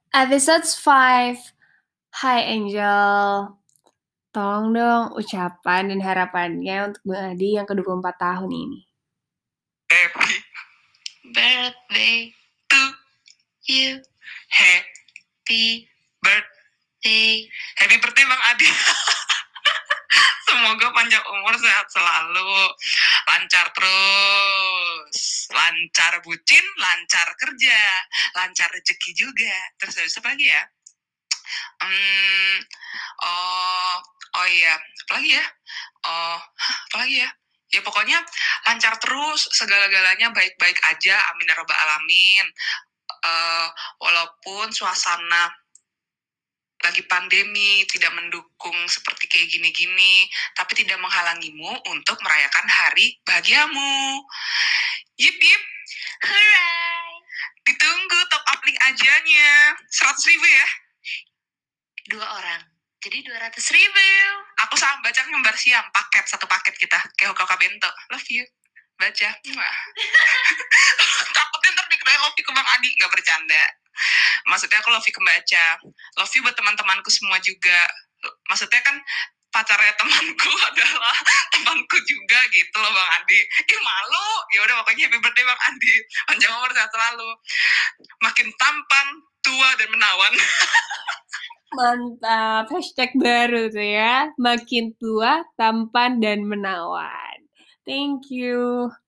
Episode 5. Hai Angel. Tolong dong ucapan dan harapannya untuk Bang Adi yang ke-24 tahun ini. Happy birthday to you. Happy birthday. Happy birthday Bang Adi. Semoga panjang umur, sehat selalu, lancar terus, lancar bucin, lancar kerja, lancar rezeki juga. Terus habis apa lagi ya? Oh iya, apa lagi ya? Apa lagi ya? Ya pokoknya lancar terus, segala-galanya baik-baik aja, amin ya robbal alamin. Walaupun suasana lagi pandemi tidak mendukung seperti kayak gini-gini, tapi tidak menghalangimu untuk merayakan hari bahagiamu. Yip yip, hooray! Ditunggu top up link ajanya, 100.000 ya? 2 orang, jadi 200.000. Aku sama baca ngembar siang, satu paket kita, kayak Hoka Bento. Love you, baca. Takutnya ntar dikira love you ke Bang Adi, nggak bercanda. Maksudnya aku love you ke baca, love you buat teman-temanku semua juga. Maksudnya kan pacarnya temanku adalah temanku juga gitu loh Bang Adi. Malu. Ya udah pokoknya happy birthday Bang Adi. Panjang umur sehat selalu. Makin tampan, tua dan menawan. Mantap, hashtag baru tuh ya. Makin tua, tampan, dan menawan. Thank you.